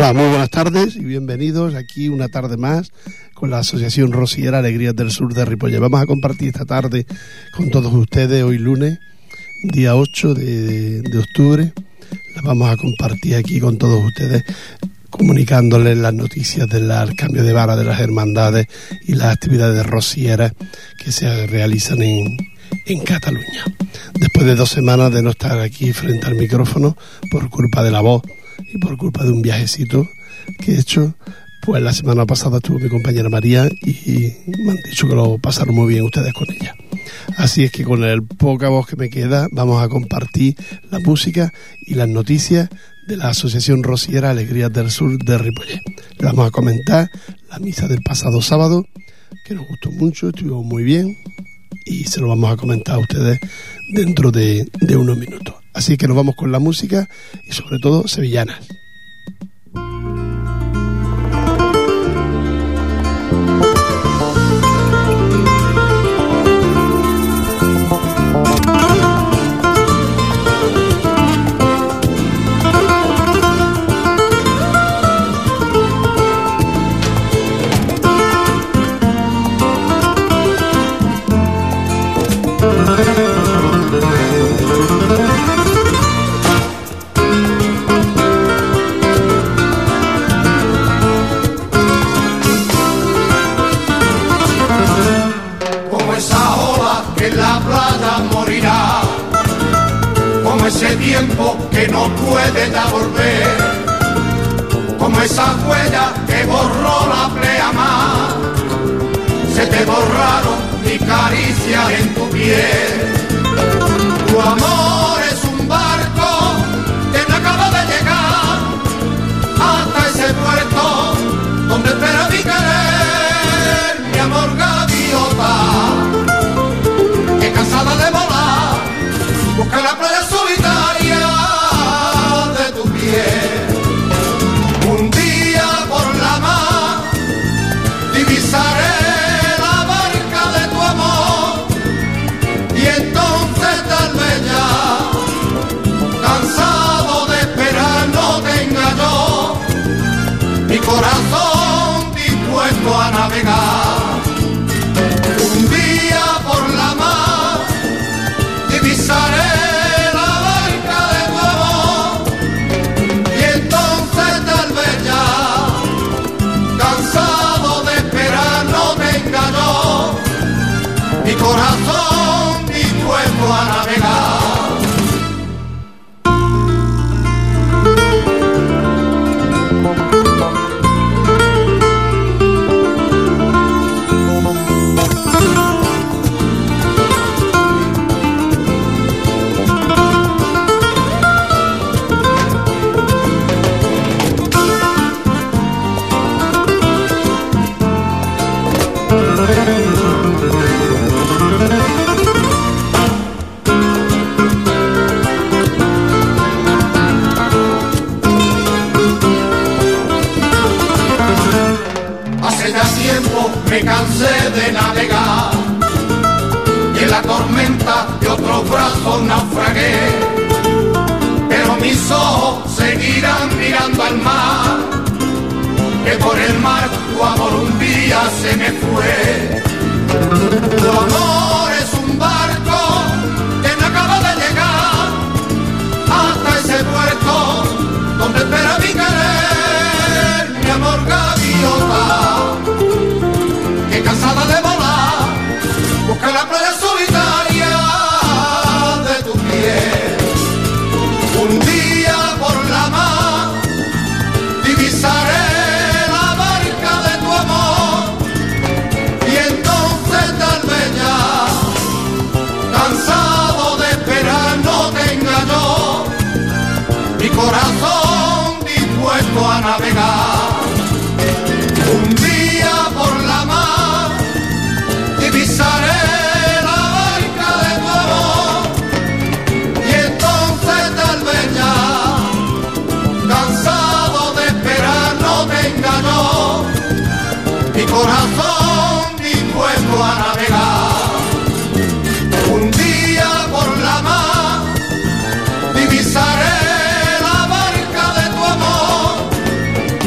Hola, muy buenas tardes y bienvenidos aquí una tarde más con la Asociación Rociera Alegrías del Sur de Ripollet. Vamos a compartir esta tarde con todos ustedes, hoy lunes, día 8 de octubre. Las vamos a compartir aquí con todos ustedes, comunicándoles las noticias del cambio de vara de las hermandades y las actividades rocieras que se realizan en Cataluña. Después de 2 semanas de no estar aquí frente al micrófono por culpa de la voz y por culpa de un viajecito que he hecho, pues la semana pasada estuvo mi compañera María y me han dicho que lo pasaron muy bien ustedes con ella. Así es que con el poca voz que me queda vamos a compartir la música y las noticias de la Asociación Rociera Alegrías del Sur de Ripollet. Le vamos a comentar la misa del pasado sábado, que nos gustó mucho, estuvo muy bien, y se lo vamos a comentar a ustedes dentro de unos minutos. Así que nos vamos con la música y sobre todo sevillanas. Ese tiempo que no puede ya volver, como esa huella que borró la pleamar, se te borraron mi caricia en tu piel. Tu amor es un barco que no acaba de llegar hasta ese puerto donde espera mi querer, mi amor gaviota, que cansada de volar busca la playa solitaria de tu piel. Un día por la mar divisaré la barca de tu amor y entonces tal vez ya, cansado de esperar, no tenga yo mi corazón dispuesto a navegar. Un día por la mar divisaré corazón dispuesto a navegar. Me cansé de navegar y en la tormenta de otros brazos naufragué, pero mis ojos seguirán mirando al mar, que por el mar tu amor un día se me fue. Tu amor es un barco que no acaba de llegar hasta ese puerto donde espera mi querer, mi amor gaviota, cansada de volar, busca la playa solitaria de tu piel. Un día por la mar divisaré la barca de tu amor y entonces tal vez ya, cansado de esperar, no tenga yo mi corazón dispuesto a navegar. Un día por la mar divisaré la barca de tu amor y entonces tal vez ya, cansado de esperar, no tenga yo mi corazón dispuesto a navegar. Un día por la mar divisaré la barca de tu amor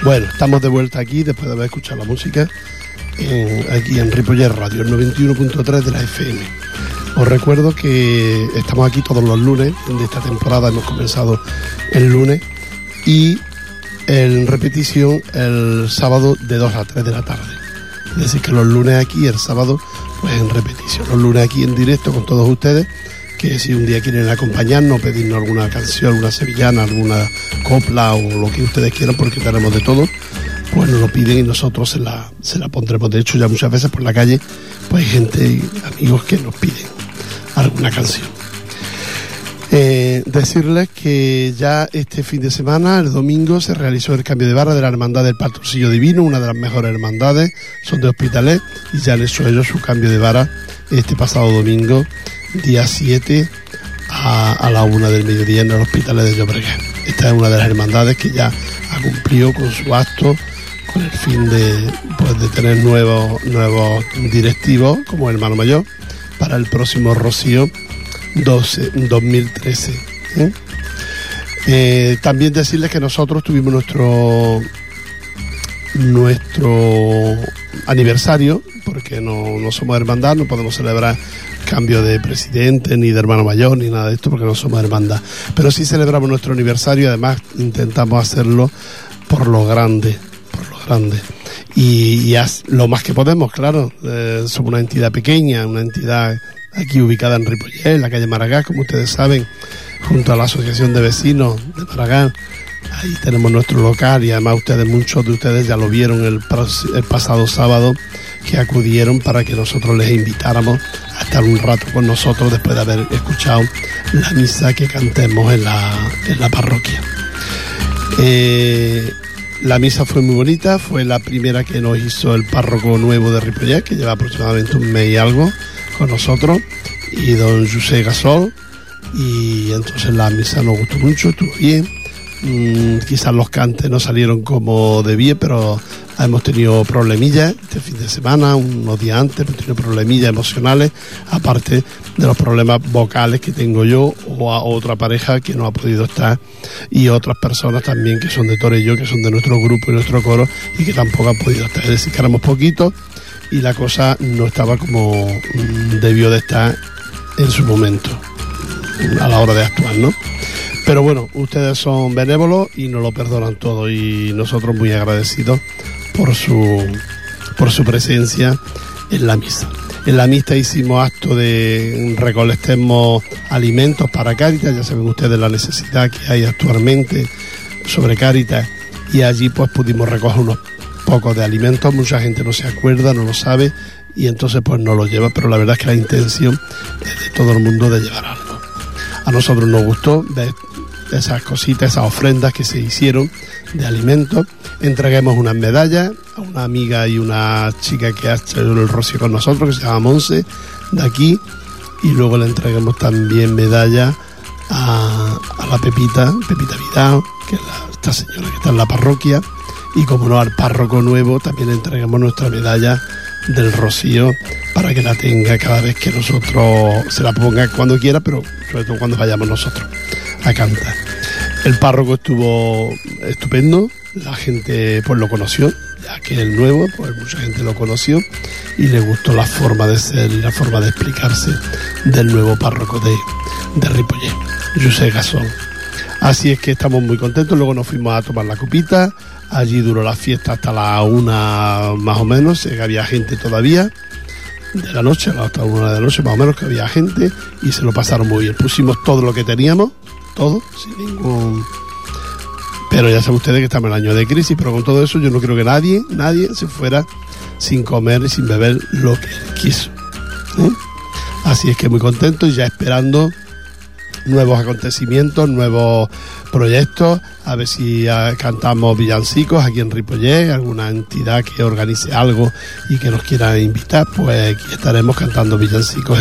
Bueno, estamos de vuelta aquí después de haber escuchado la música aquí en Ripollet Radio, el 91.3 de la FM. Os recuerdo que estamos aquí todos los lunes de esta temporada, hemos comenzado el lunes y en repetición el sábado de 2 a 3 de la tarde. Es decir, que los lunes aquí y el sábado pues en repetición. Los lunes aquí en directo con todos ustedes, que si un día quieren acompañarnos, pedirnos alguna canción, alguna sevillana, alguna copla o lo que ustedes quieran, porque tenemos de todo, pues nos lo piden y nosotros se la pondremos. De hecho, ya muchas veces por la calle pues hay gente, amigos que nos piden alguna canción. Decirles que ya este fin de semana, el domingo, se realizó el cambio de vara de la Hermandad del Pastorcillo Divino, una de las mejores hermandades, son de Hospitalet, y ya han hecho ellos su cambio de vara este pasado domingo, día 7, a la 1 del mediodía en el Hospitalet de Llobregat. Esta es una de las hermandades que ya ha cumplido con su acto, con el fin de tener nuevos directivos como hermano mayor para el próximo Rocío 2013. También decirles que nosotros tuvimos nuestro aniversario, porque no somos hermandad, no podemos celebrar cambio de presidente ni de hermano mayor ni nada de esto porque no somos hermandad, pero sí celebramos nuestro aniversario y además intentamos hacerlo por lo grande y lo más que podemos, claro. Somos una entidad pequeña, una entidad aquí ubicada en Ripollet, en la calle Maragall, como ustedes saben, junto a la Asociación de Vecinos de Maragall. Ahí tenemos nuestro local y además muchos de ustedes ya lo vieron el pasado sábado, que acudieron para que nosotros les invitáramos a estar un rato con nosotros después de haber escuchado la misa que cantemos en la parroquia. La misa fue muy bonita, fue la primera que nos hizo el párroco nuevo de Ripollet, que lleva aproximadamente un mes y algo con nosotros, y don José Gasol, y entonces la misa nos gustó mucho, estuvo bien. Quizás los cantes no salieron como debía, pero hemos tenido problemillas este fin de semana, unos días antes, hemos tenido problemillas emocionales, aparte de los problemas vocales que tengo yo o a otra pareja que no ha podido estar, y otras personas también que son de Torelló, que son de nuestro grupo y nuestro coro y que tampoco han podido estar. Es decir, que éramos poquitos y la cosa no estaba como debió de estar en su momento a la hora de actuar, ¿no? Pero bueno, ustedes son benévolos y nos lo perdonan todo, y nosotros muy agradecidos por su presencia en la misa. En la misa hicimos acto de recolectemos alimentos para Cáritas. Ya saben ustedes la necesidad que hay actualmente sobre Cáritas, y allí pues pudimos recoger unos pocos de alimentos. Mucha gente no se acuerda, no lo sabe, y entonces pues no lo lleva, pero la verdad es que la intención es de todo el mundo de llevar algo. A nosotros nos gustó ver esas cositas, esas ofrendas que se hicieron de alimentos. Entreguemos unas medallas a una amiga y una chica que ha hecho el rocío con nosotros, que se llama Monse, de aquí, y luego le entreguemos también medallas a la Pepita Vidal, que es esta señora que está en la parroquia, y como no, al párroco nuevo también le entreguemos nuestra medalla del rocío para que la tenga cada vez que nosotros se la ponga, cuando quiera, pero sobre todo cuando vayamos nosotros a cantar. El párroco estuvo estupendo, la gente pues lo conoció, ya que el nuevo, pues mucha gente lo conoció y le gustó la forma de ser y la forma de explicarse del nuevo párroco de Ripollet, José Gasol. Así es que estamos muy contentos. Luego nos fuimos a tomar la copita, allí duró la fiesta hasta la 1 más o menos, que había gente todavía de la noche, hasta 1 de la noche más o menos, que había gente, y se lo pasaron muy bien. Pusimos todo lo que teníamos, todo, sin ningún... Pero ya saben ustedes que estamos en el año de crisis, pero con todo eso yo no creo que nadie se fuera sin comer y sin beber lo que quiso, ¿eh? Así es que muy contento y ya esperando nuevos acontecimientos, nuevos proyectos, a ver si cantamos villancicos aquí en Ripollet, alguna entidad que organice algo y que nos quiera invitar, pues aquí estaremos cantando villancicos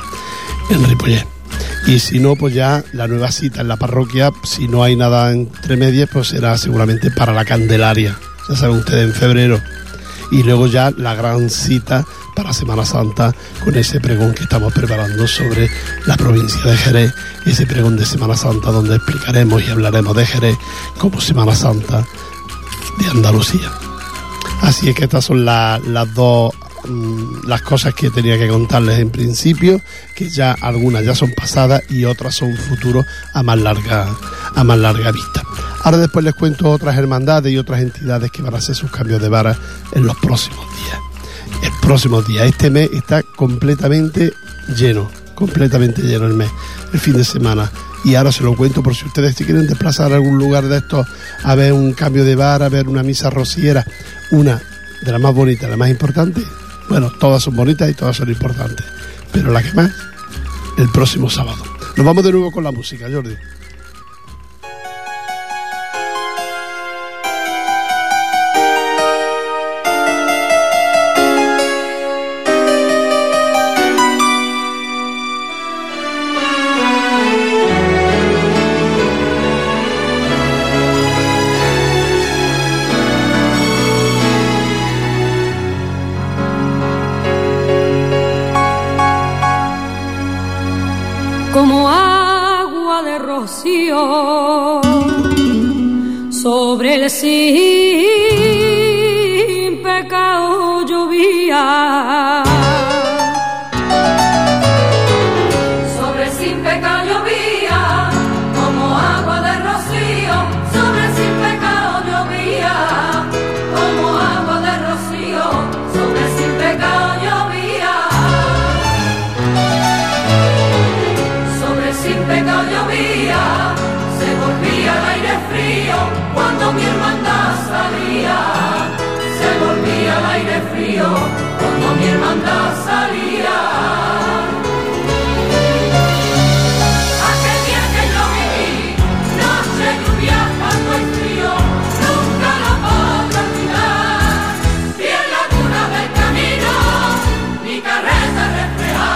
en Ripollet. Y si no, pues ya la nueva cita en la parroquia, si no hay nada entre medias, pues será seguramente para la Candelaria, ya saben ustedes, en febrero. Y luego ya la gran cita para Semana Santa, con ese pregón que estamos preparando sobre la provincia de Jerez, ese pregón de Semana Santa donde explicaremos y hablaremos de Jerez como Semana Santa Andalucía. Así es que estas son las dos las cosas que tenía que contarles en principio, que ya algunas ya son pasadas y otras son futuros a más larga vista. Ahora después les cuento otras hermandades y otras entidades que van a hacer sus cambios de vara en los próximos días. Este mes está completamente lleno el mes, el fin de semana. Y ahora se lo cuento por si ustedes se quieren desplazar a algún lugar de estos a ver un cambio de vara, a ver una misa rociera, una de las más bonitas, la más importante. Bueno, todas son bonitas y todas son importantes, pero la que más, el próximo sábado. Nos vamos de nuevo con la música, Jordi. Como agua de rocío sobre el sin pecado llovía, sobre el sin pecado llovía, como agua de rocío sobre el sin pecado llovía, como agua de rocío sobre el sin pecado llovía. Sin pecado llovía, se volvía el aire frío cuando mi hermandad salía. Se volvía el aire frío cuando mi hermandad salía. Aquel día que yo viví, noche lluvia, cuando el frío, nunca lo podré olvidar. Y en la luna del camino, mi carreta reflejada.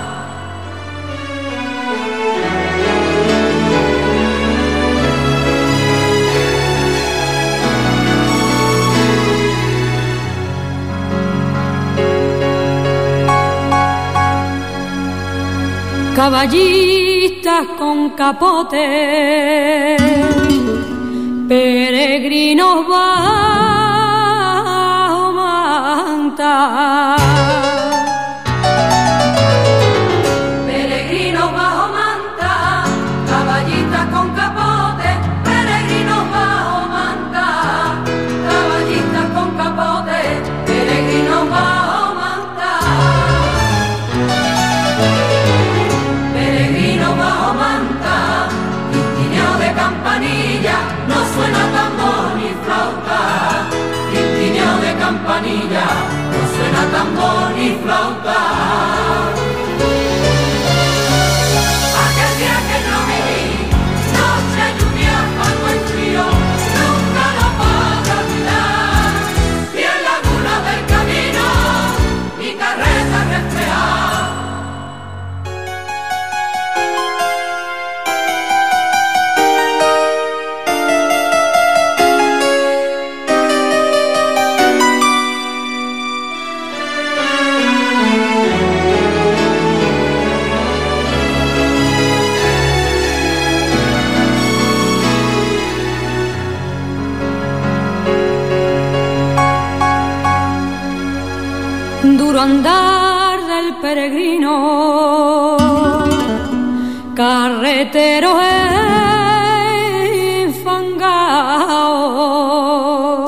Caballistas con capote, peregrinos bajo manta. Peregrinos bajo manta, caballistas con capote, peregrinos bajo manta. Caballistas con capote, peregrinos bajo manta. Bajo manta, tintineo de campanilla, no suena tambor ni flauta. Tintineo de campanilla, no suena tambor ni flauta. Aquel día que yo viví, noche lluvia, cuando el frío, nunca lo podré olvidar. Y en la luna del camino, mi carreta reflejada. Duro andar del peregrino, carretero enfangao.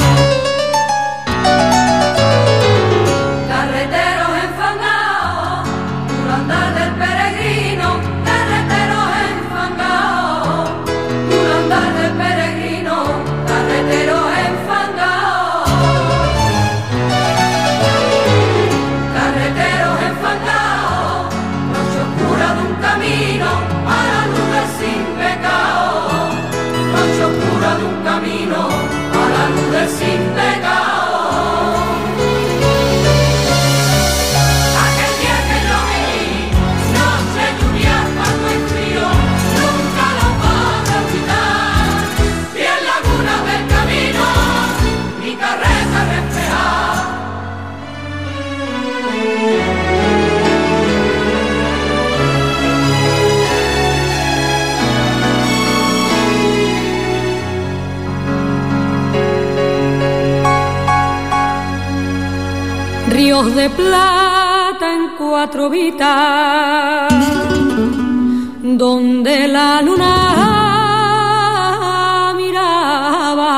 Carretero enfangao, duro andar del peregrino, carretero enfangao. Duro andar del peregrino, carretero enfangao. Carreteros enfangados, noche oscura de un camino a la luz del sin pecado. Noche oscura de un camino a la luz del sin pecado. Aquel día que yo viví, noche lluvia, cuando el frío, nunca lo podré olvidar. Y en la laguna del camino, mi carreta reflejada. ríos de plata en 4 vitas, donde la luna miraba,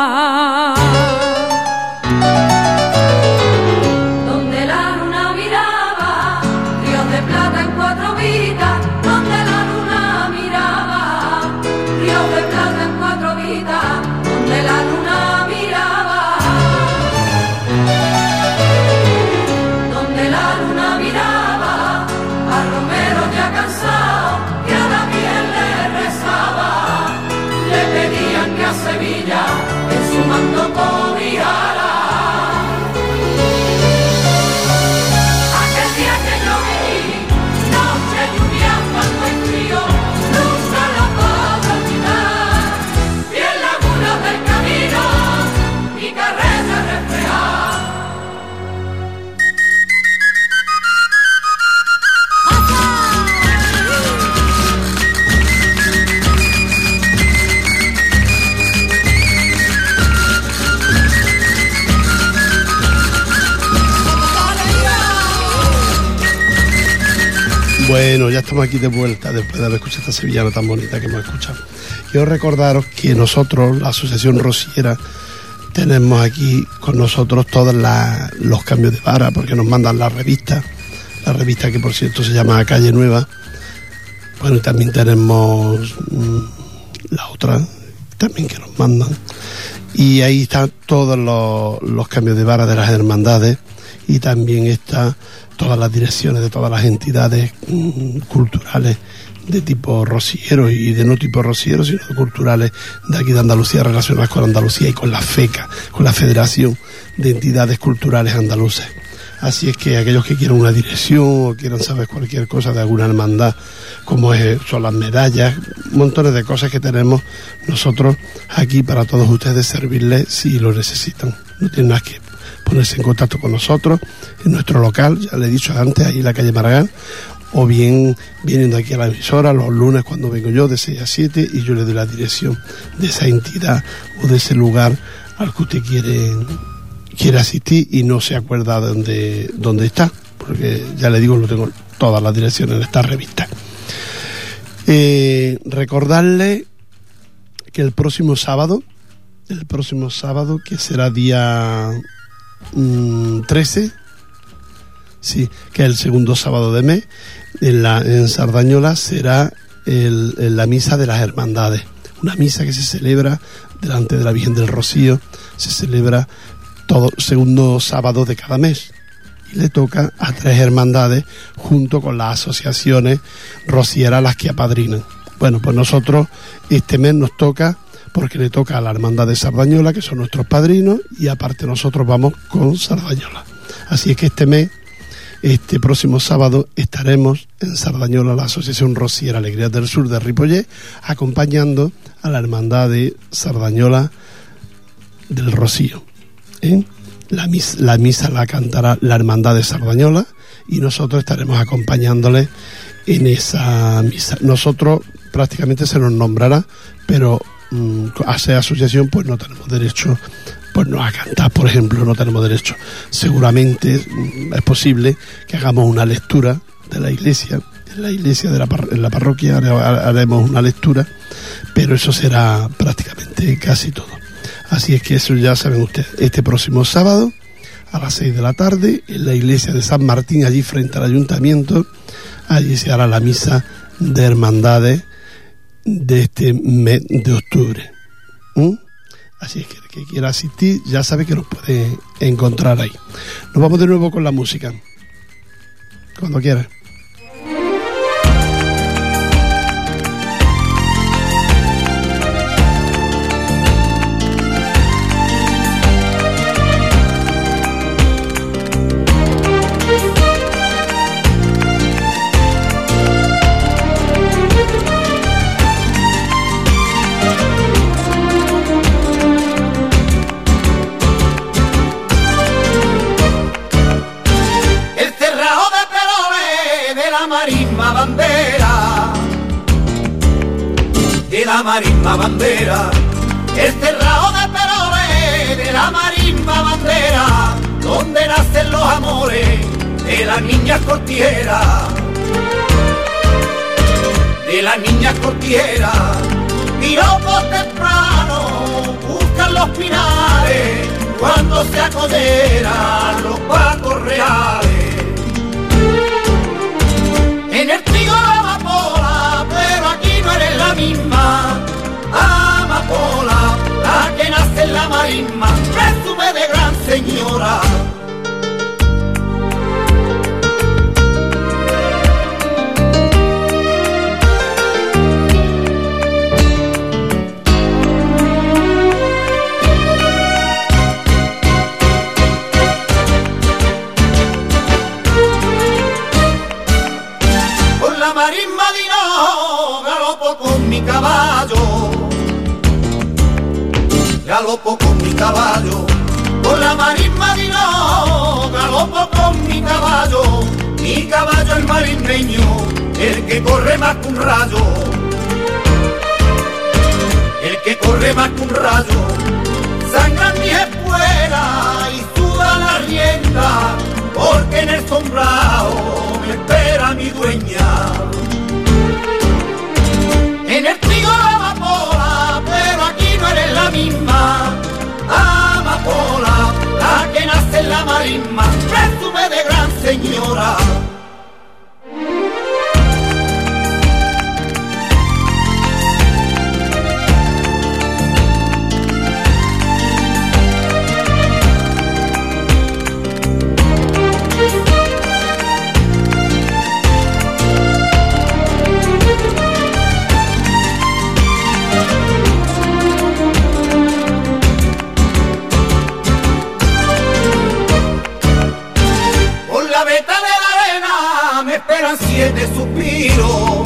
donde la luna miraba, ríos de plata en 4 vitas, donde la luna miraba, ríos de plata en 4 vitas, donde la luna miraba, donde la luna miraba, al romero ya cansado que a la piel le rezaba, le pedían que a Sevilla en su manto cobiara. Aquel día que yo viví, noche lluvia, cuando hay frío, nunca la puedo olvidar. Y en lagunas del camino, mi carreta reflejada. Bueno, ya estamos aquí de vuelta después de haber escuchado esta sevillana tan bonita que hemos escuchado. Quiero recordaros que nosotros, la Asociación Rociera, tenemos aquí con nosotros todos los cambios de vara, porque nos mandan la revista que por cierto se llama Calle Nueva. Bueno, y también tenemos la otra también que nos mandan. Y ahí están todos los cambios de vara de las hermandades, y también está todas las direcciones de todas las entidades culturales de tipo rociero y de no tipo rociero, sino de culturales de aquí de Andalucía, relacionadas con Andalucía y con la FECA, con la Federación de Entidades Culturales Andaluces. Así es que aquellos que quieran una dirección o quieran saber cualquier cosa de alguna hermandad, como son las medallas, montones de cosas que tenemos nosotros aquí para todos ustedes, servirles si lo necesitan. No tienen nada que ponerse en contacto con nosotros en nuestro local, ya le he dicho antes, ahí en la calle Maragall, o bien viniendo aquí a la emisora los lunes cuando vengo yo de 6 a 7 y yo le doy la dirección de esa entidad o de ese lugar al que usted quiere asistir y no se acuerda dónde está, porque ya le digo, lo tengo todas las direcciones en esta revista. Recordarle que el próximo sábado, que será día 13, sí, que es el segundo sábado de mes, en Sardañola será la misa de las hermandades, una misa que se celebra delante de la Virgen del Rocío, se celebra todo segundo sábado de cada mes y le toca a 3 hermandades junto con las asociaciones rocieras las que apadrinan. Bueno, pues nosotros este mes nos toca, porque le toca a la hermandad de Sardañola, que son nuestros padrinos, y aparte nosotros vamos con Sardañola. Así es que este próximo sábado estaremos en Sardañola, la Asociación Rociera Alegrías del Sur de Ripollet, acompañando a la hermandad de Sardañola del Rocío. La misa la cantará la hermandad de Sardañola y nosotros estaremos acompañándoles en esa misa. Nosotros prácticamente se nos nombrará, pero a ser asociación pues no tenemos derecho pues no a cantar, por ejemplo, no tenemos derecho. Seguramente es posible que hagamos una lectura de la iglesia, en la parroquia haremos una lectura, pero eso será prácticamente casi todo. Así es que eso ya saben ustedes, este próximo sábado a las 6 de la tarde en la iglesia de San Martín, allí frente al ayuntamiento, allí se hará la misa de hermandades de este mes de octubre. Así es que el que quiera asistir ya sabe que nos puede encontrar ahí. Nos vamos de nuevo con la música, cuando quiera. La marisma bandera, el cerrado de Perole de la marisma bandera, donde nacen los amores de las niñas cortieras, de las niñas cortieras, piropos temprano, buscan los pinares, cuando se acoderan los pacos reales. En el trigo la amapola, pero aquí no eres la misma amapola, la que nace en la marisma, presume de gran señora. Marisma di no, galopo con mi caballo, galopo con mi caballo, con la marisma di no, galopo con mi caballo el marismeño, el que corre más que un rayo, el que corre más que un rayo, sangran mis espuelas y suda la rienda, porque en el sombrado me espera mi dueña. En el trigo la amapola, pero aquí no eres la misma amapola, la que nace en la marisma, presume de gran señora. Siete suspiros,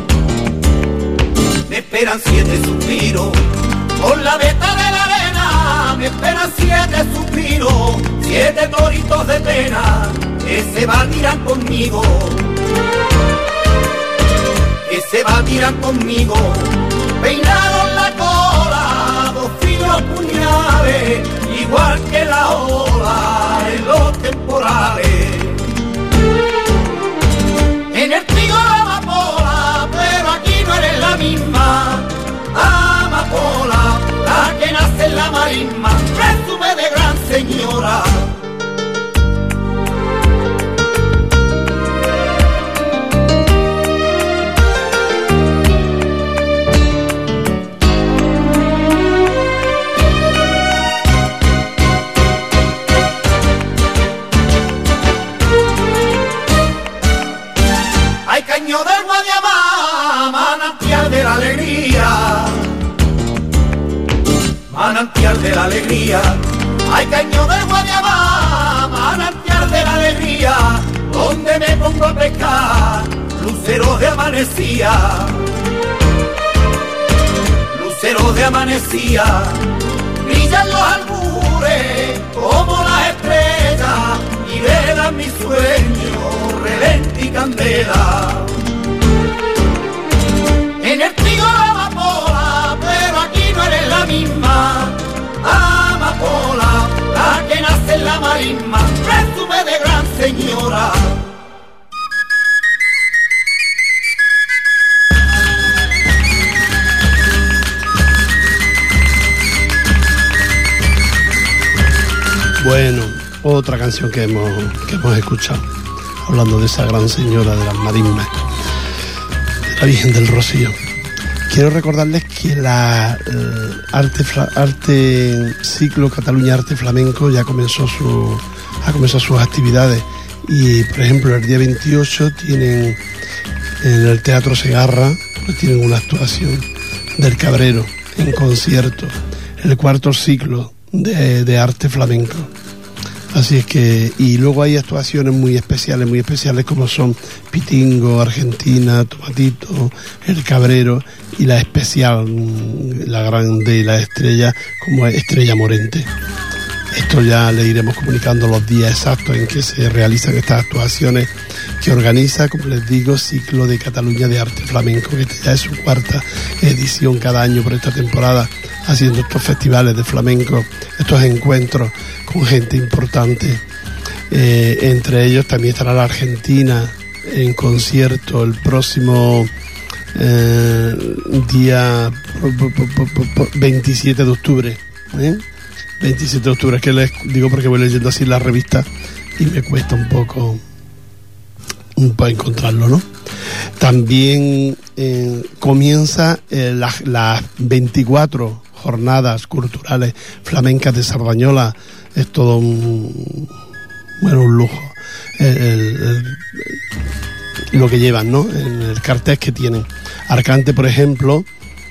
me esperan 7 suspiros, por la veta de la arena me esperan 7 suspiros, 7 toritos de pena que se batirán conmigo, que se batirán conmigo, peinados en la cola, 2 finos puñales, igual que la ola en los temporales. En el trigo la amapola, pero aquí no eres la misma amapola, la que nace en la marisma, presume de gran señora. Caño del Guadiamá, manantial de la alegría, manantial de la alegría. Hay caño del Guadiamá, manantial de la alegría, donde me pongo a pescar luceros de amanecía, luceros de amanecía. Brillan los albures como las estrellas y velan mi sueño, relente y candela. En el trigo la amapola, pero aquí no eres la misma amapola, la que nace en la marisma, presume de gran señora. Bueno, otra canción que hemos escuchado, hablando de esa gran señora de las marismas, de la Virgen del Rocío. Quiero recordarles que la arte ciclo Cataluña Arte Flamenco ya comenzó sus actividades y, por ejemplo, el día 28 tienen en el Teatro Segarra, pues tienen una actuación del Cabrero en concierto, el 4º ciclo de arte flamenco. Así es que, y luego hay actuaciones muy especiales como son Pitingo, Argentina, Tomatito, El Cabrero y la especial, la grande y la estrella, como es Estrella Morente. Esto ya le iremos comunicando los días exactos en que se realizan estas actuaciones que organiza, como les digo, Ciclo de Cataluña de Arte Flamenco, que ya es su 4ª edición cada año por esta temporada, haciendo estos festivales de flamenco, estos encuentros con gente importante Entre ellos también estará la Argentina en concierto el próximo día 27 de octubre. 27 de octubre, es que les digo porque voy leyendo así la revista y me cuesta un poco encontrarlo, ¿no? También comienza las 24 jornadas culturales flamencas de Sardañola. Es todo un lujo lo que llevan, ¿no? En el cartel que tienen. Arcante, por ejemplo,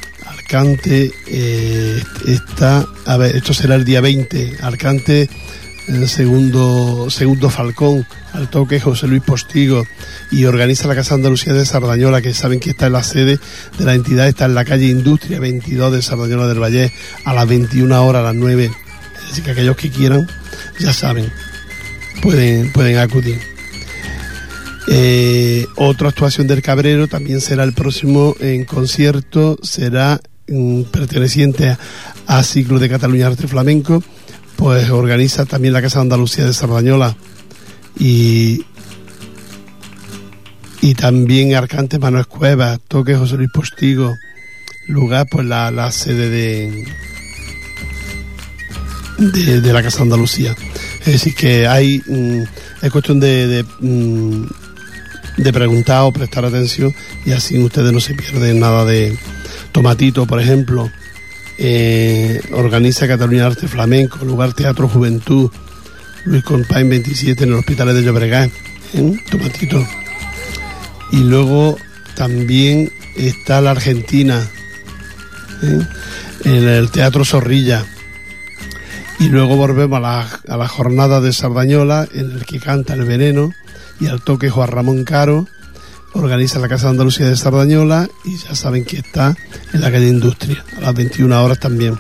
está, a ver, esto será el día 20. Arcante, segundo Falcón, al toque José Luis Postigo, y organiza la Casa Andalucía de Sardañola, que saben que está en la sede de la entidad, está en la calle Industria 22 de Sardañola del Valle, a las 21 horas, a las 9. Es decir, que aquellos que quieran, ya saben, pueden acudir. Otra actuación del Cabrero también será el próximo en concierto, será perteneciente a Ciclo de Cataluña Arte Flamenco, pues organiza también la Casa de Andalucía de Sardañola, y también Arcante Manuel Cuevas, toque José Luis Postigo, lugar pues la sede de la Casa de Andalucía. Es decir, que es cuestión de preguntar o prestar atención, y así ustedes no se pierden nada de Tomatito, por ejemplo. Organiza Cataluña Arte Flamenco, lugar Teatro Juventud, Luis Compain 27 en el Hospital de Llobregat, Tomatito. Y luego también está la Argentina, en el Teatro Zorrilla. Y luego volvemos a la jornada de Sardañola, en el que canta El Veneno, y al toque Juan Ramón Caro. Organiza la Casa de Andalucía de Sardañola, y ya saben que está en la calle Industria, a las 21 horas también.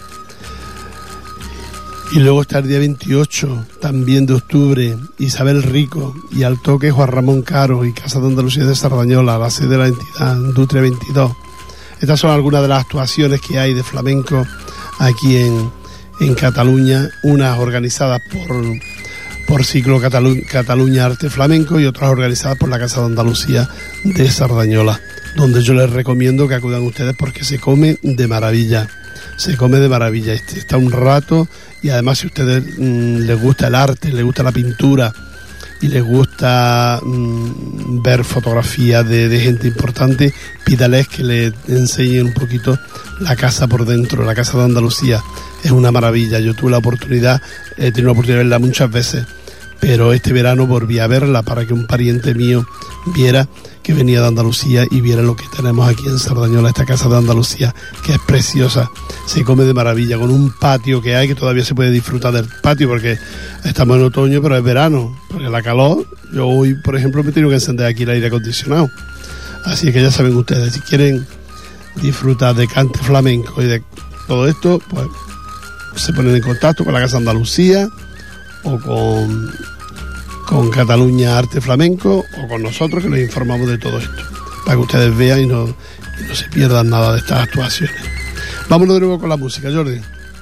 Y luego está el día 28, también de octubre, Isabel Rico, y al toque Juan Ramón Caro, y Casa de Andalucía de Sardañola, la sede de la entidad, Industria 22. Estas son algunas de las actuaciones que hay de flamenco aquí en Cataluña, unas organizadas por Ciclo Cataluña Arte Flamenco y otras organizadas por la Casa de Andalucía de Sardañola, donde yo les recomiendo que acudan ustedes porque se come de maravilla. Está un rato, y además si a ustedes les gusta el arte, les gusta la pintura y les gusta ver fotografías de gente importante, pídales que le enseñen un poquito la casa por dentro. La Casa de Andalucía es una maravilla. Yo tuve la oportunidad, he tenido la oportunidad de verla muchas veces, pero este verano volví a verla para que un pariente mío viera que venía de Andalucía y viera lo que tenemos aquí en Sardañola, esta Casa de Andalucía, que es preciosa. Se come de maravilla, con un patio que hay, que todavía se puede disfrutar del patio porque estamos en otoño, pero es verano, porque la calor, yo hoy por ejemplo me he tenido que encender aquí el aire acondicionado. Así que ya saben ustedes, si quieren disfrutar de cante flamenco y de todo esto, pues se ponen en contacto con la Casa de Andalucía o con Cataluña Arte Flamenco o con nosotros, que les informamos de todo esto, para que ustedes vean y no se pierdan nada de estas actuaciones. Vámonos de nuevo con la música, Jordi.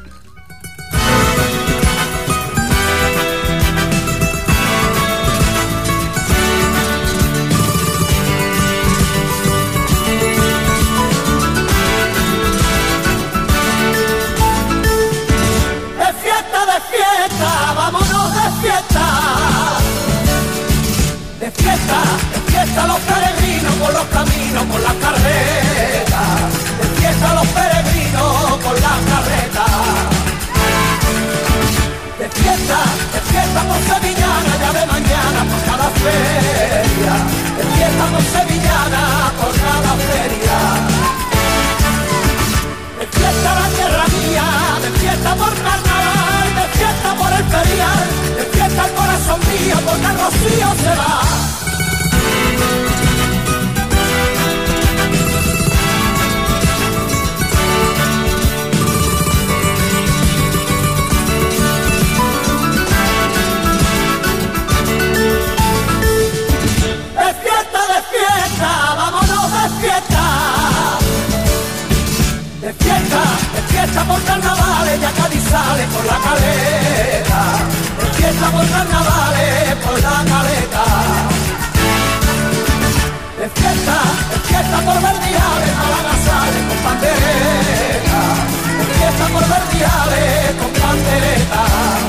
Despiesta los peregrinos por los caminos, por las carretas. Despiesta los peregrinos por las carretas. Despierta por Sevillana, ya de mañana por cada feria. Despierta por Sevillana por cada feria. Despierta la tierra mía, despierta por carnaval, despierta por el ferial, despierta el corazón mío porque el rocío se va. Despierta por carnavales, ya Cádiz sale por la caleta. Despierta por carnavales, por barriales con panderetas.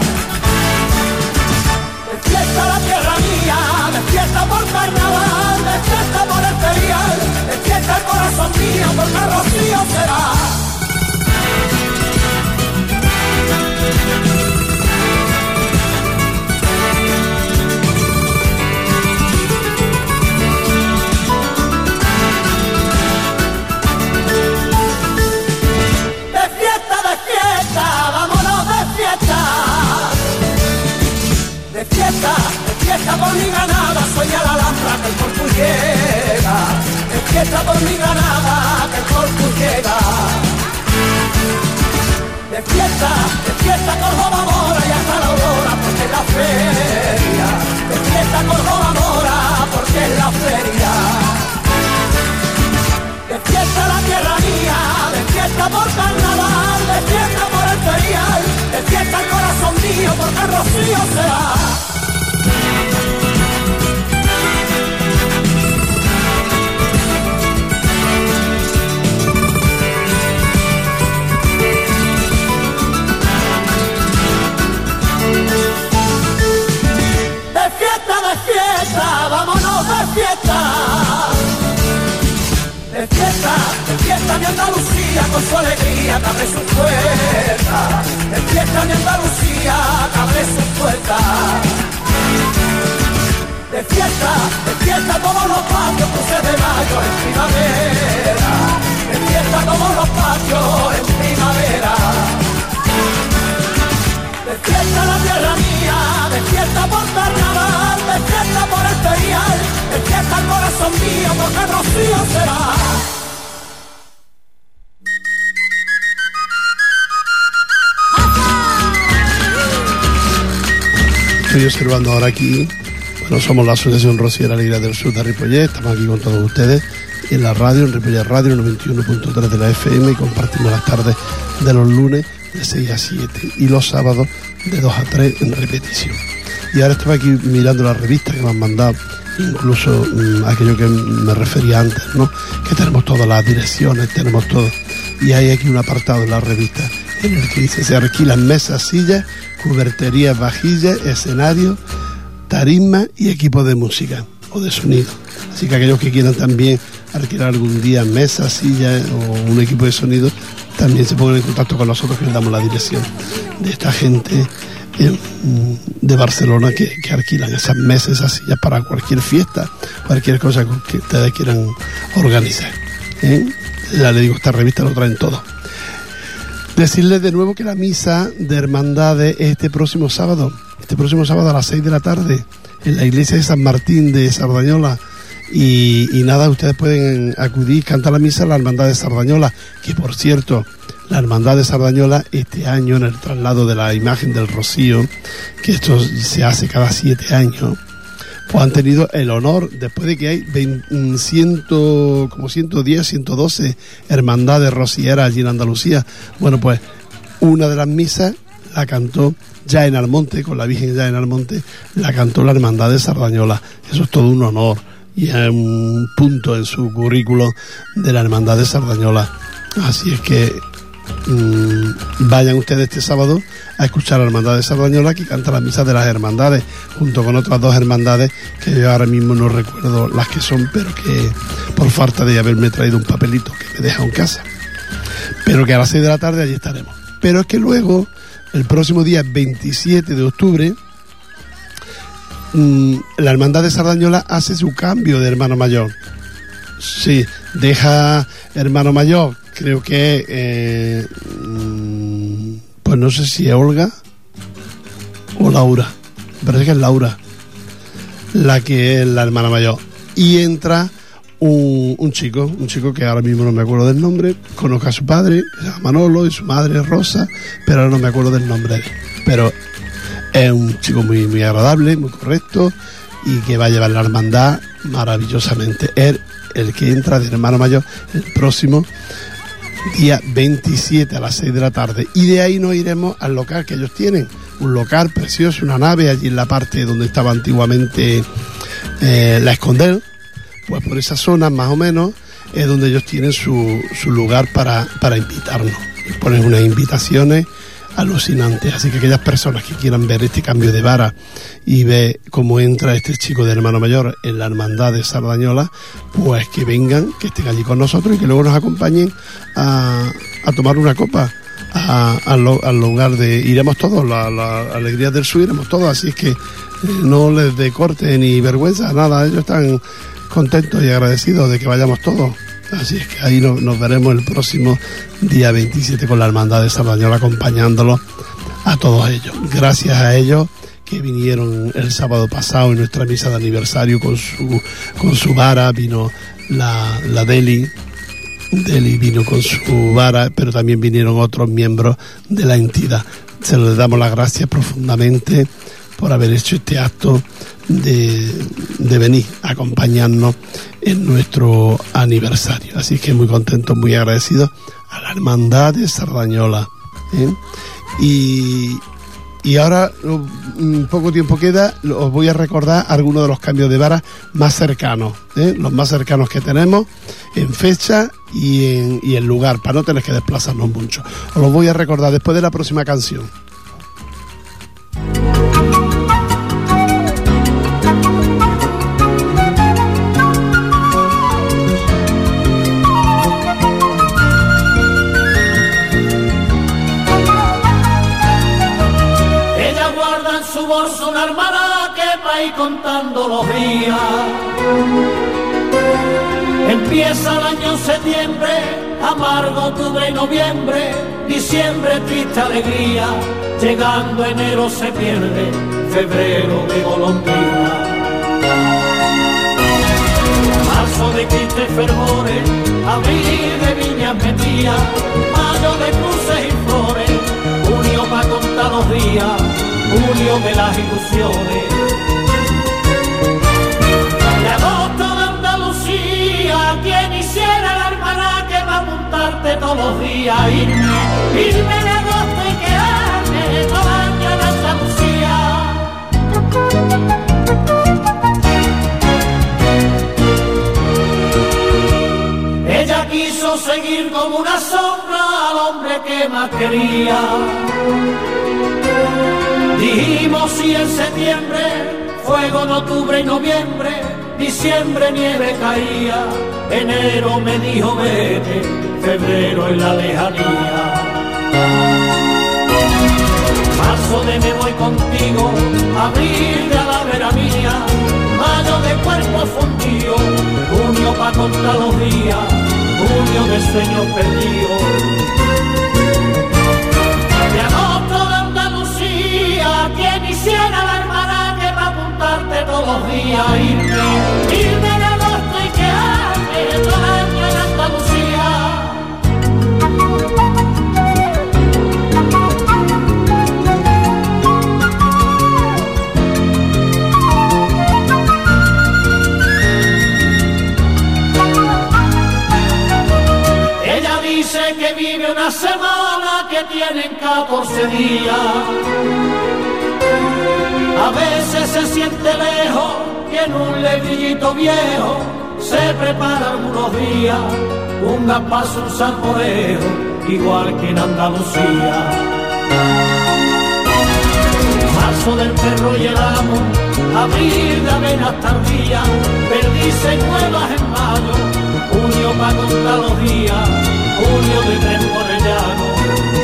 Despierta la tierra mía, despierta por carnaval, despierta por el ferial, despierta el corazón mío porque el rocío será. Despierta por mi Granada, sueña la Alhambra que el Corpus llega. Despierta por mi Granada, que el Corpus llega. Despierta Córdoba Mora y hasta la aurora porque es la feria. Despierta Córdoba Mora porque es la feria. Despierta la tierra mía, despierta por carnaval, despierta por el ferial, despierta el corazón mío porque el rocío será. Despierta, vámonos de fiesta. Despierta mi Andalucía con su alegría que abre sus puertas. Despierta mi Andalucía que abre sus puertas. Despierta todos los patios, cruces de mayo en primavera. Despierta todos los patios en primavera. Despierta la tierra mía, despierta por carnaval, despierta por el ferial, despierta el corazón mío porque el rocío será. Estoy observando ahora aquí, bueno, somos la Asociación Rociera Alegría del Sur de Ripollet, estamos aquí con todos ustedes en la radio, en Ripollet Radio 91.3 de la FM, y compartimos las tardes de los lunes de 6 a 7 y los sábados de 2 a 3 en repetición. Y ahora estaba aquí mirando las revistas que me han mandado, incluso aquello que me refería antes, ¿no? Que tenemos todas las direcciones, tenemos todo. Y hay aquí un apartado en la revista en el que dice: se alquilan mesas, sillas, cuberterías, vajillas, escenarios, tarismas y equipos de música o de sonido. Así que aquellos que quieran también alquilar algún día mesas, sillas o un equipo de sonido, también se pongan en contacto con nosotros, que les damos la dirección de esta gente de Barcelona que alquilan esas mesas, esas sillas para cualquier fiesta, cualquier cosa que ustedes quieran organizar. Ya le digo, esta revista lo traen todo. Decirles de nuevo que la misa de hermandades es este próximo sábado a las 6 de la tarde en la iglesia de San Martín de Sardañola. Y nada, ustedes pueden acudir, cantar la misa a la hermandad de Sardañola, que por cierto, la hermandad de Sardañola este año, en el traslado de la imagen del Rocío, que esto se hace cada 7 años, pues han tenido el honor, después de que hay 110, 112 hermandades rocieras allí en Andalucía, bueno, pues una de las misas la cantó ya en Almonte, con la Virgen ya en Almonte, la cantó la hermandad de Sardañola. Eso es todo un honor y es un punto en su currículo de la hermandad de Sardañola. Así es que vayan ustedes este sábado a escuchar a la hermandad de Sardañola, que canta las misas de las hermandades, junto con otras 2 hermandades que yo ahora mismo no recuerdo las que son, pero que por falta de haberme traído un papelito que me deja en casa, pero que a las 6 de la tarde allí estaremos. Pero es que luego, el próximo día 27 de octubre, la hermandad de Sardañola hace su cambio de hermano mayor. Sí, deja hermano mayor, creo que pues no sé si es Olga o Laura, me parece que es Laura la que es la hermana mayor, y entra un chico que ahora mismo no me acuerdo del nombre. Conozco a su padre, que se llama Manolo, y su madre es Rosa, pero ahora no me acuerdo del nombre de él. Pero es un chico muy, muy agradable, muy correcto, y que va a llevar la hermandad maravillosamente. El que entra de hermano mayor el próximo día 27 a las 6 de la tarde. Y de ahí nos iremos al local que ellos tienen, un local precioso, una nave allí en la parte donde estaba antiguamente la Escondel. Pues por esa zona más o menos es donde ellos tienen su lugar para invitarnos. Ponen unas invitaciones alucinante. Así que aquellas personas que quieran ver este cambio de vara y ver cómo entra este chico de hermano mayor en la hermandad de Sardañola, pues que vengan, que estén allí con nosotros y que luego nos acompañen a tomar una copa al lugar de... Iremos todos, la Alegría del Sur, iremos todos, así es que no les dé corte ni vergüenza, nada, ellos están contentos y agradecidos de que vayamos todos. Así es que ahí nos veremos el próximo día 27 con la hermandad de Sardañola, acompañándolos a todos ellos. Gracias a ellos que vinieron el sábado pasado en nuestra misa de aniversario con su vara, vino la Deli vino con su vara, pero también vinieron otros miembros de la entidad. Se les damos las gracias profundamente por haber hecho este acto de venir a acompañarnos en nuestro aniversario. Así que muy contentos, muy agradecidos a la hermandad de Sardañola, ¿eh? Y ahora, poco tiempo queda, os voy a recordar algunos de los cambios de vara más cercanos, ¿eh? Los más cercanos que tenemos en fecha y en lugar, para no tener que desplazarnos mucho. Os los voy a recordar después de la próxima canción. Una hermana que va a ir contando los días. Empieza el año septiembre, amargo octubre y noviembre, diciembre triste alegría, llegando enero se pierde, febrero de golondrina. Marzo de tristes fervores, abril de viñas metidas, mayo de cruces y flores, junio pa' contar los días, julio de las ilusiones. De agosto de Andalucía, quien hiciera la hermana que va a montarte todos los días. Irme de agosto y quedarme todo el año en Andalucía. Ella quiso seguir como una sombra al hombre que más quería. Dijimos sí en septiembre, fuego en octubre y noviembre, diciembre nieve caía, enero me dijo vete, febrero en la lejanía. Marzo de me voy contigo, abril de a la vera mía, mayo de cuerpo fundido, junio pa' contar los días, junio de sueños perdidos. Quien hiciera la hermana que va a apuntarte todos los días. Irme de agosto y quedarme todo el año en Andalucía. Ella dice que vive una semana que tienen 14 días. A veces se siente lejos y en un lebrillito viejo se prepara algunos días un gapazo, un salmorejo, igual que en Andalucía. Marzo del perro y el amo, abril de avenas tardías, perdices nuevas en mayo, junio pa' contar los días, junio de tren por el llano.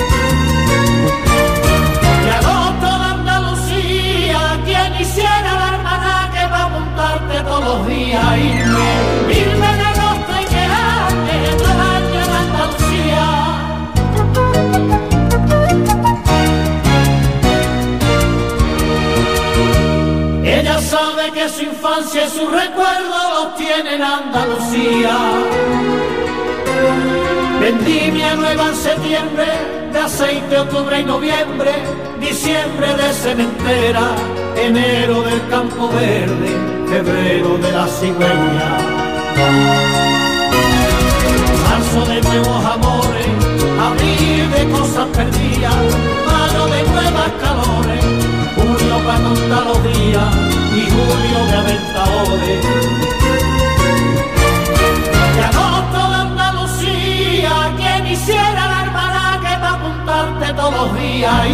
Hiciera la hermana que va a montarte todos los días. Irme de agosto y quedarme todo el año en Andalucía. Ella sabe que su infancia y su recuerdo los tiene en Andalucía. Vendimia nueva en septiembre, de aceite octubre y noviembre, diciembre de cementera, enero del campo verde, febrero de la cigüeña. Marzo de nuevos amores, abril de cosas perdidas, mayo de nuevas calores, junio pa' contar los días y julio de aventadores. De agosto de Andalucía, quien hiciera la hermana que va a apuntarte todos los días.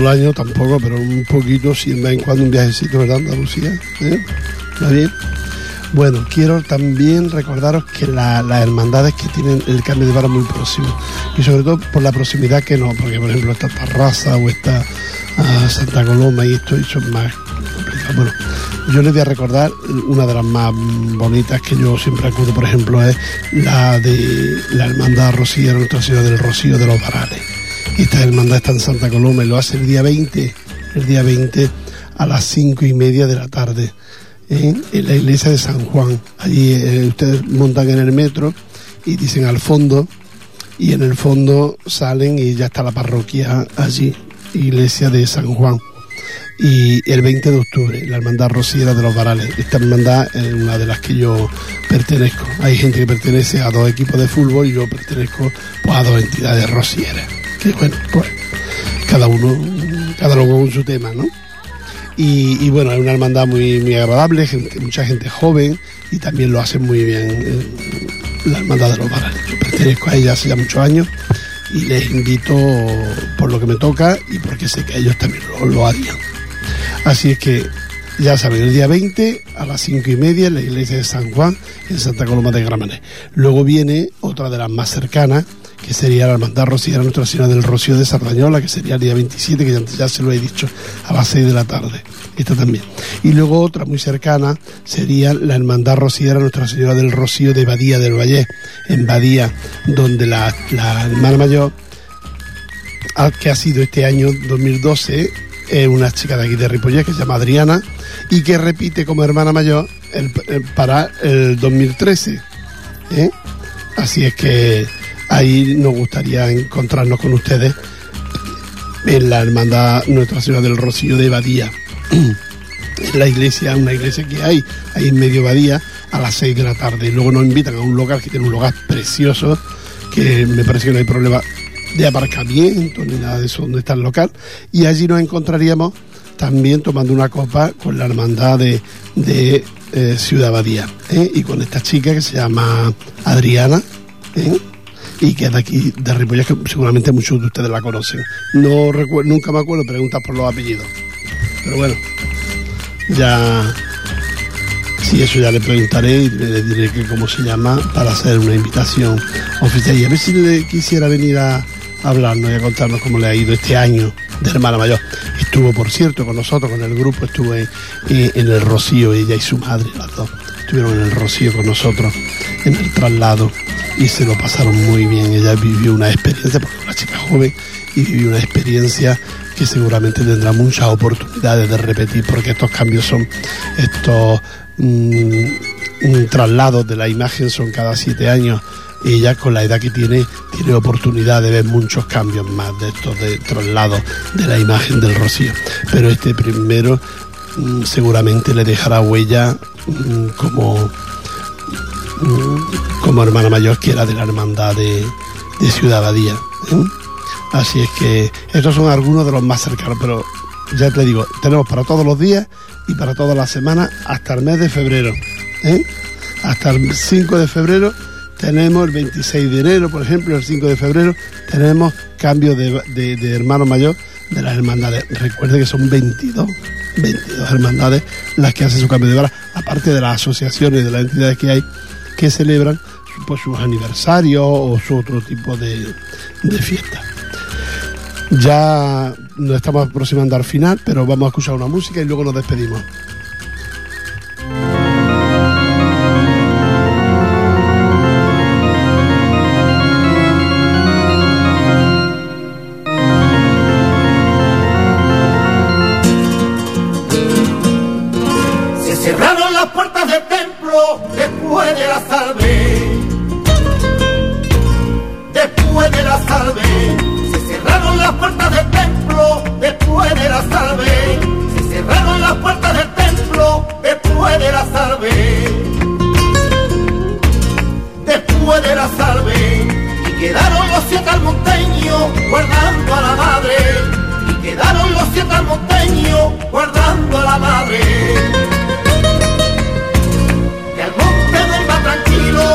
el año tampoco, pero un poquito, si de vez en cuando un viajecito, ¿verdad, Andalucía? ¿Está bien? Bueno, quiero también recordaros que las hermandades que tienen el cambio de vara muy próximo, y sobre todo por la proximidad que no, porque por ejemplo está Tarrasa o está Santa Coloma y esto son más complicados. Bueno, yo les voy a recordar una de las más bonitas que yo siempre acudo, por ejemplo, es la de la hermandad rociera Nuestra Señora del Rocío de los Varales. Esta hermandad está en Santa Coloma y lo hace el día 20 a las 5:30 de la tarde. En la iglesia de San Juan. Allí ustedes montan en el metro y dicen al fondo, y en el fondo salen y ya está la parroquia allí, iglesia de San Juan. Y el 20 de octubre, la hermandad rociera de los Varales. Esta hermandad es una de las que yo pertenezco. Hay gente que pertenece a 2 equipos de fútbol y yo pertenezco pues a 2 entidades rocieras. Que bueno, pues cada uno con su tema, ¿no? Y bueno, es una hermandad muy, muy agradable, mucha gente joven, y también lo hacen muy bien la hermandad de los Varales. Yo pertenezco a ella hace ya muchos años y les invito por lo que me toca y porque sé que ellos también lo harían. Así es que ya saben, el día 20 a las 5:30 en la iglesia de San Juan, en Santa Coloma de Gramenet. Luego viene otra de las más cercanas, que sería la hermandad rociera Nuestra Señora del Rocío de Sardañola, que sería el día 27, que ya se lo he dicho, a las 6 de la tarde. Esta también. Y luego otra muy cercana sería la hermandad rociera Nuestra Señora del Rocío de Badía del Vallés, en Badía, donde la hermana mayor, que ha sido este año 2012, es una chica de aquí de Ripollet que se llama Adriana y que repite como hermana mayor para el 2013. Así es que ahí nos gustaría encontrarnos con ustedes en la hermandad Nuestra Señora del Rocío de Badía. En la iglesia, una iglesia que hay ahí en medio Badía, a las 6 de la tarde. Y luego nos invitan a un local que tiene un lugar precioso, que me parece que no hay problema de aparcamiento ni nada de eso donde está el local. Y allí nos encontraríamos también tomando una copa con la hermandad de Ciudad Badía, y con esta chica que se llama Adriana, y que es de aquí de Ripollet, que seguramente muchos de ustedes la conocen. No recuerdo, nunca me acuerdo, preguntas por los apellidos, pero bueno, ya sí, eso ya le preguntaré y le diré que cómo se llama para hacer una invitación oficial, y a ver si le quisiera venir a hablarnos y a contarnos cómo le ha ido este año de hermana mayor. Estuvo, por cierto, con nosotros, con el grupo, estuvo en el Rocío, ella y su madre, las dos estuvieron en el Rocío con nosotros en el traslado y se lo pasaron muy bien. Ella vivió una experiencia, porque es una chica joven, y vivió una experiencia que seguramente tendrá muchas oportunidades de repetir, porque estos cambios son estos traslados de la imagen, son cada 7 años. Ella, con la edad que tiene oportunidad de ver muchos cambios más de estos de traslados de la imagen del Rocío, pero este primero seguramente le dejará huella como hermana mayor, que era de la hermandad de Ciudad Badía, Así es que estos son algunos de los más cercanos, pero ya te digo, tenemos para todos los días y para todas las semanas hasta el mes de febrero, hasta el 5 de febrero tenemos, el 26 de enero, por ejemplo, el 5 de febrero tenemos cambio de hermano mayor de las hermandades. Recuerde que son 22 hermandades las que hacen su cambio de vara, aparte de las asociaciones, de las entidades que hay que celebran pues sus aniversarios o su otro tipo de fiestas. Ya nos estamos aproximando al final, pero vamos a escuchar una música y luego nos despedimos. Se cerraron las puertas del templo después de la salve. Después de la salve. Cerraron las puertas del templo después de la salve. Se cerraron las puertas del templo después de la salve. Después de la salve. Y quedaron los 7 almonteños guardando a la madre. Y quedaron los 7 almonteños guardando a la madre. Que al monte duerma tranquilo,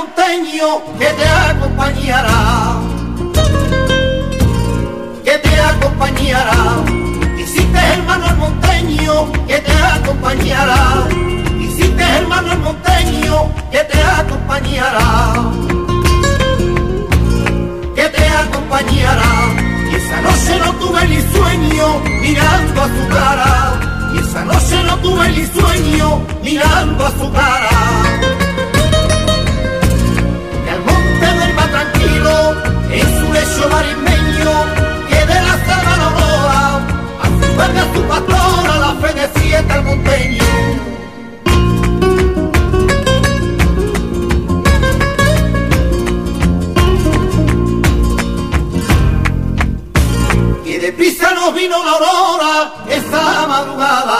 monteño que te acompañará, que te acompañará. Hiciste hermano el monteño que te acompañará, hiciste hermano el monteño que te acompañará, que te acompañará. Y esa noche no tuve ni sueño mirando a su cara, y esa noche no tuve ni sueño mirando a su cara. Y al monte duerma tranquilo en su lecho marismeño, que de la selva la aurora a su verde a su pastora la fe despierta al monteño. Y deprisa nos vino la aurora esa madrugada,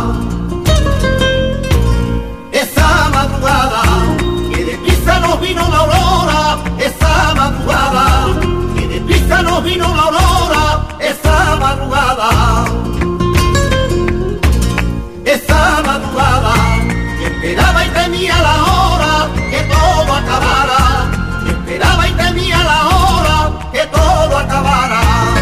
esa madrugada. Y deprisa nos vino la aurora esa madrugada, y deprisa nos vino la aurora esa madrugada, esa madrugada. Y esperaba y temía la hora que todo acabara, y esperaba y temía la hora que todo acabara.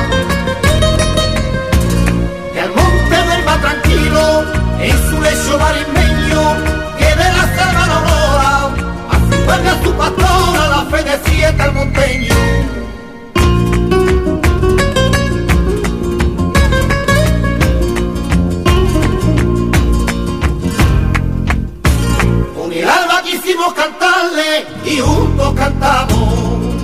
Que al monte duerma tranquilo en su lecho marismeño, que de la selva la aurora a su verde a su pastora la fe despierta al monteño. Con el alba quisimos cantarle y juntos cantamos,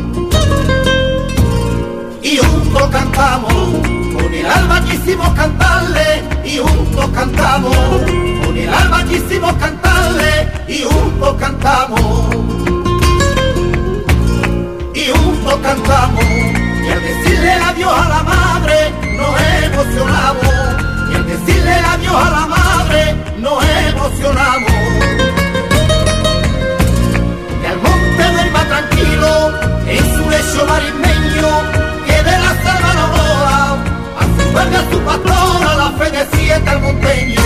y juntos cantamos. Con el alba quisimos cantarle y juntos cantamos, con el alba quisimos cantarle y juntos cantamos, y juntos cantamos. Y al decirle adiós a la madre nos emocionamos, y al decirle adiós a la madre nos emocionamos. Y al monte duerma tranquilo en su lecho marismeño, que de la selva la aurora a su verde a su pastora la fe despierta al monteño.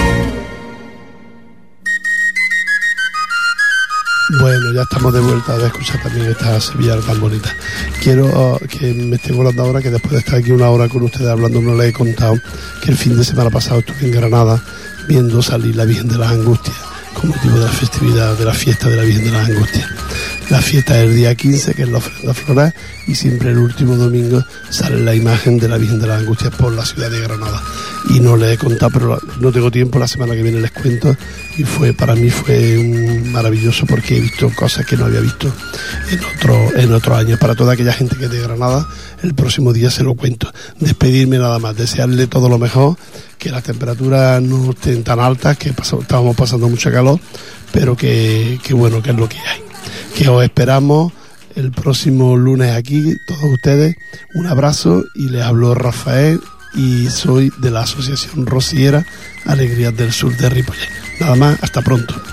Bueno, ya estamos de vuelta de escuchar también esta sevillana tan bonita. Quiero que me esté volando ahora, que después de estar aquí una hora con ustedes hablando, no les he contado que el fin de semana pasado estuve en Granada viendo salir la Virgen de las Angustias con motivo de la festividad de la fiesta de la Virgen de las Angustias. La fiesta es el día 15, que es la ofrenda floral, y siempre el último domingo sale la imagen de la Virgen de las Angustias por la ciudad de Granada. Y no les he contado, pero no tengo tiempo, la semana que viene les cuento. Y para mí fue maravilloso, porque he visto cosas que no había visto en otros años. Para toda aquella gente que es de Granada, el próximo día se lo cuento. Despedirme nada más, desearle todo lo mejor, que las temperaturas no estén tan altas, que estábamos pasando mucha calor, pero que bueno, que es lo que hay. Que os esperamos el próximo lunes aquí, todos ustedes. Un abrazo, y les habló Rafael, y soy de la Asociación Rociera Alegrías del Sur de Ripollet. Nada más, hasta pronto.